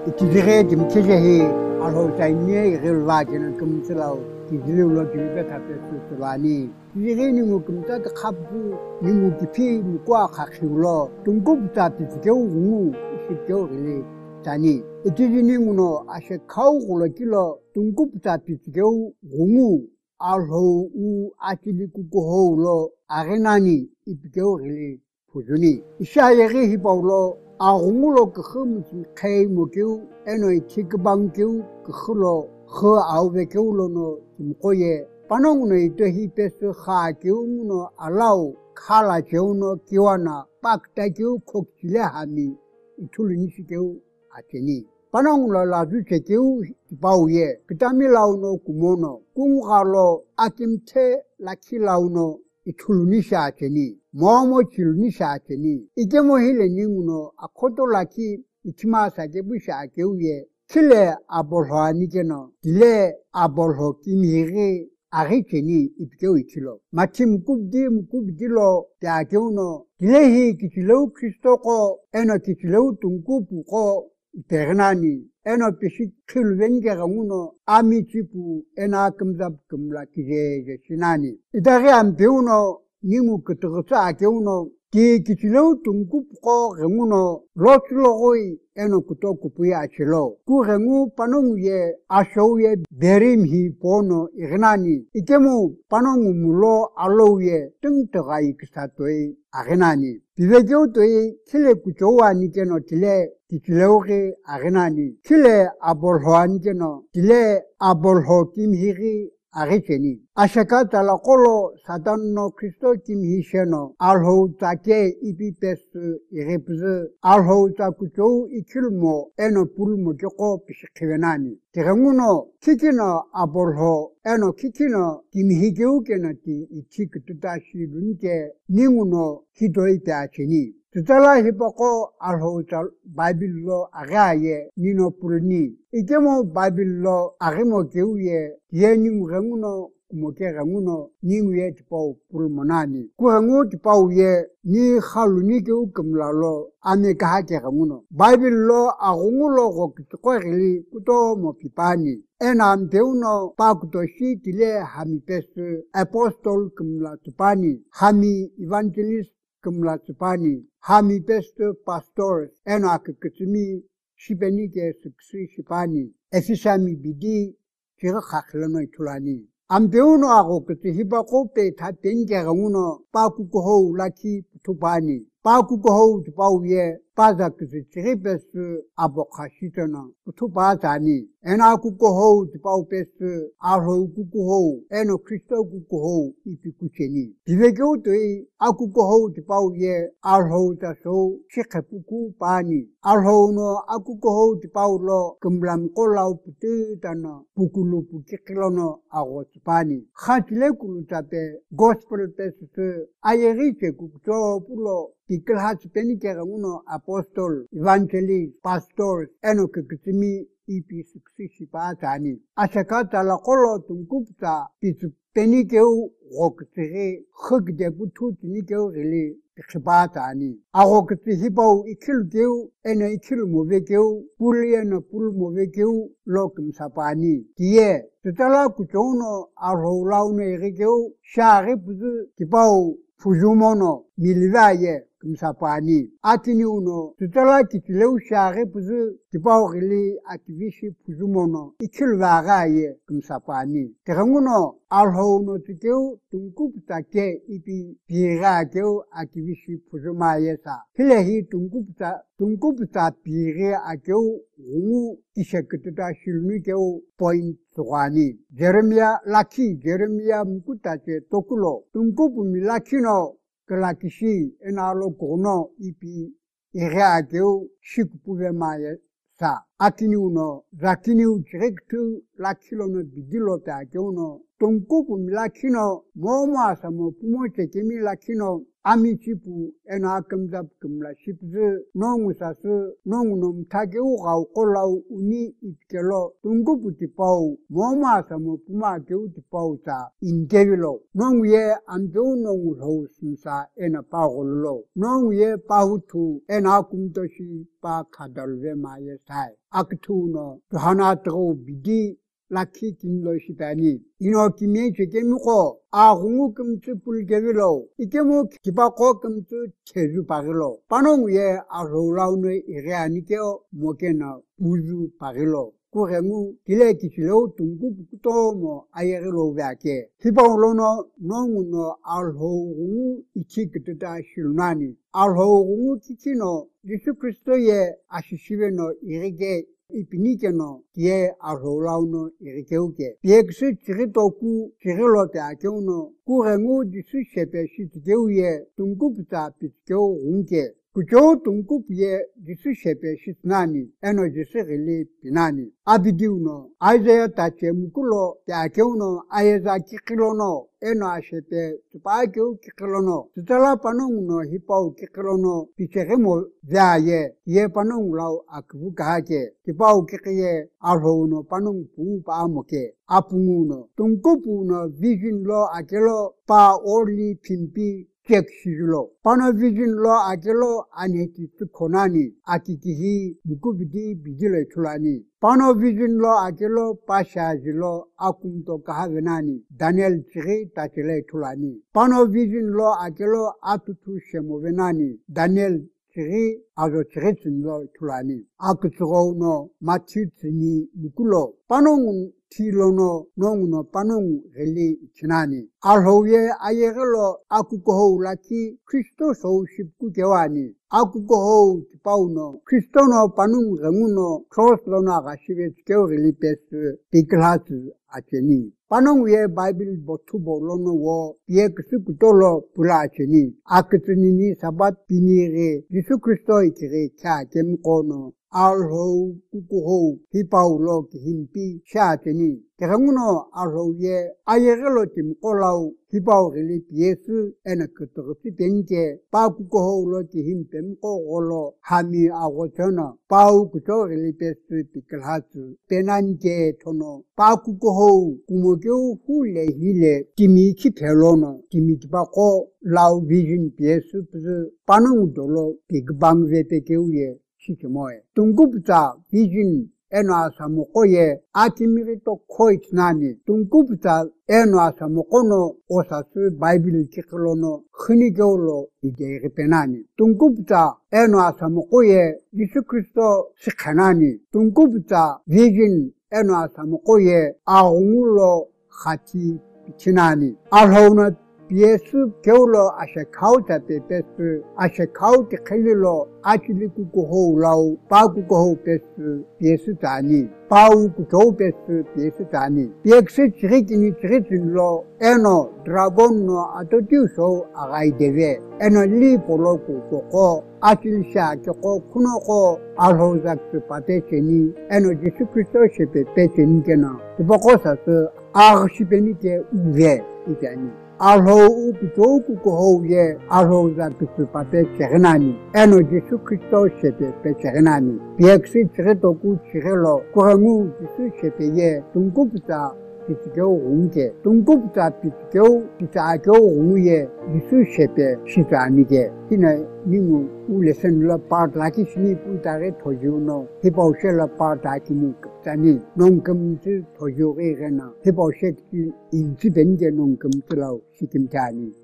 Itidire kimchehe alho chaine relwajena kumslau tidillo tibe tapet sulani tidire ni mukumta khabbu ni mukipi mukwa khakhulo tungkup tapitgeu ngu sikeu rile tani itidini muno ashe khaugulo kilo tungkup tapitgeu ngu alho u atiliku koholo arenani ipgeu rile pujuni ishayeri hipaulo Agungulo kehumti kay mukeu eno itikbangkeu kehulo he awekeulo no timkoye panong no itohi pesu khakeu no alau khala keuno kiwana pakta keu khokchile hami itulinisikeu ateni panong lo laju chekeu tipauye kitamilau no kumono kungalo akimte lakilau no itulunisha ateni momo chilunisha ateni ikemo hile ninguno akoto laki ichimasa kebusha akeuye kile abolho nikeno dile abolho kimiri aricheni ipikeu ichilo mati mukubdilo te akeuno dile hi kichileu kristoko eno kichileu tunkupu ko ipernani eno pishik khilwengera nguno amichipu ena kumzab kumla kijeje sinani idari ambeuno ningu kuturusa akeuno ki kichileu tunkup ko renguno lotulogoi eno kutokupuya achilo ku rengu panongu ye ashouye berim hi pono ignani ikemu panongu mulo alouye tungtagai kisatoi agnani bivegeu toi kile kuchowa nikeno tile kichileuge agnani kile abolho nikeno tile abolho kimhiri aricheni ashakata la kolo satanno kristo kimhisheno alho take ipipes irepze alho takucho ikilmo eno pulmo joko pishkivenani teranguno kikino abolho eno kikino kimhigeu kenati ichik tutashi lunke ninguno hidoite acheni tutala hipoko alho Bible agaye nino pulni ikemo Bible agimo keuye yeningu ranguno kumoke ranguno ningu ye tipau pulmonani kurangu tipau ye ni khaluni keu kumlalo ame kahake ranguno Bible agungulo go kitqorili kuto mopipani ena ambeuno pakutoshi tile hamipesu apostol kumla tupani hami evangelist kumla tupani hami pesto pastors eno akikitsumi shibenike suksi shipani efisami bidi kira khaklano itulani ambeuno ako kiti hibako pe tatenge ranguno pakukoho laki tupani pakukoho tupauye paza kisi chiripesu abokhashitana tupazani ena kukoho tupau pesu arho kukoho eno kristo kukoho ipikucheni divekeu toi akukoho tupauye arho taso shikhepuku pani arho no akukoho tupaulo kumblam kolau putu tana pukulu pukikilono ago tupani khatile kulutape gospel pesu ayeriche kukuto pulo Tikelhats penikera uno apostol, evangelist, pastors, eno kikitsimi ipi suksisi paatani. Ashakata la kolo tungkupta pisu penikeu roksire khugde butu tinikeu rili tikhipatani. Arokti hipau ikilgeu eno ikil movekeu puli eno pul movekeu lokum sapani. Tie tutala kuchono arholaune erikeu shari puzu kipau fujumono milivaye kumsapani atini uno tutala kitileu share puzu tipawgili ativishi puzumono ikilvagaye kumsapani teranguno alhono tikeu tungkupta ke ipi pira keu ativishi puzumaye sa hilehi tungkupta pire akeu ungu ishektuta shilmi keu point Tuani Jeremia mukutache tokulo tungkupu milakino kelakishi enalo kono ipi ireakeu shikupuve maye sa atini uno zakini uchrektu lakilono bidilo ta keuno tungkupu milakino momo asamo pumoche kimi lakino 아미치부 에나금잡금라 십즈 농우사스 농놈 타게우가우 꼴라우 우니 이트켈로 둥구부티파우 모마사모 부마게우티파우사 인데빌로 농위에 안좋은 농우로 심사 에나 파골로 농위에 파우투 에나 꿈도시 파 카달베 마예 사이 아크투노 하나 뜨고 비디 라키 긴로시다니 이노키미 제게무고 아홍우 금츠 불게빌로 이게모 기바고 금츠 체주 바길로 빠농위에 아로라우네 이레아니케오 모케나 우주 바길로 고행우 딜레키실로 둥구부토모 아예르로 베게 히바올로노 농우노 알호우 이치크트다 실나니 알호우 키치노 예수 그리스도의 아시시베노 이르게 이피니케노 기에 아로라우노 이르케우게 비엑스 지리도쿠 지리로테 아케우노 구행우 디스 셰페시 지게우에 둥구부타 피케우 웅게 그저 둥구비에 디스 셰페시 나니 에너지스 릴리 비나니 아비디우노 아이자야 타체무쿨로 아케우노 아예자 키킬로노 에노아셰페 투파케우 키킬로노 투탈라 파농노 히파우 키킬로노 피체게모 자예 예 파농라우 아크부가게 히파우 키키에 알호노 파농 부바모케 아풍우노 둥구부노 비진로 아켈로 파 올리 핀피 객시줄로 파노 비진로 아켈로 아네티트 코나니 아키키히 무쿠비디 비질레 툴라니 파노 비진로 아켈로 파샤질로 아쿰토 카하베나니 다니엘 치리 타켈레 툴라니 파노 비진로 아켈로 아투투 셰모베나니 다니엘 치리 아조 치레친로 툴라니 아크츠고노 마치츠니 무쿨로 파농 티로노 농노 파농 rel리 치나니 알호예 아예글로 아쿠코호라키 크리스토소 십구개와니 아쿠코호 파우노 크리스토노 파농 르무노 크로스로나가 시베스케오 릴리페스 디클라스 아체니 파농 위에 바이블 보투볼로노 워 비엑스쿠톨로 불아체니 아크츠니니 사밧 비니레 예수 그리스도 이키레 차 겜코노 알호 쿠쿠호 히파울로 힘피 샤체니 대강문어 알호예 아예글로 팀콜라우 히파우릴리 피에스 에나크토르티 벤게 파쿠코호로 힘템코올로 하미 아고처나 파우쿠토릴리 페스 피클하츠 페난게 토노 파쿠코호 구모교 훌레 힐레 티미키 펠로노 티미티바코 라우 비진 피에스 푸즈 파농돌로 빅방베페케우예 시키모에 둥구부자 비진 에노아사모코에 아티미리토 코이트나니 둥구부자 에노아사모코노 오사스 바이빌 키클로노 흔히겨울로 이제 페나니 둥구부자 에노아사모코에 예수 그리스도 시카나니 둥구부자 비진 에노아사모코에 아옹울로 같이 비치나니 알호나 예수 겨울로 아셰카우타 페페스 아셰카우티 켈릴로 아치리쿠코호라우 바쿠코호 페스 예수자니 바우쿠토 페스 예수자니 비엑스 지리기니 지리질로 에노 드라곤노 아토티우소 아가이데베 에노 리포로쿠코코 아칠샤 켜코 쿠노코 알호작스 파테체니 에노 예수 그리스도 셰페페체니케나 티보코사스 아르시베니케 우베 이자니 알호 우쿠토쿠코호예 알호작스 파테체나니 에노 예수 그리스도 셰페페체나니 비엑스 지리도쿠 지리로 고항우 예수 셰페예 둥구부자 피치교 옹게 둥구부자 피치교 피자교 옹예 예수 셰페 시자니게 히네 니무 울레선라 파르라키 시니 부타레 토주노 히보셰라 파르타키니 자니 농금지 토주게나 히보셰키 인지벤게 농금지라우 시킴자니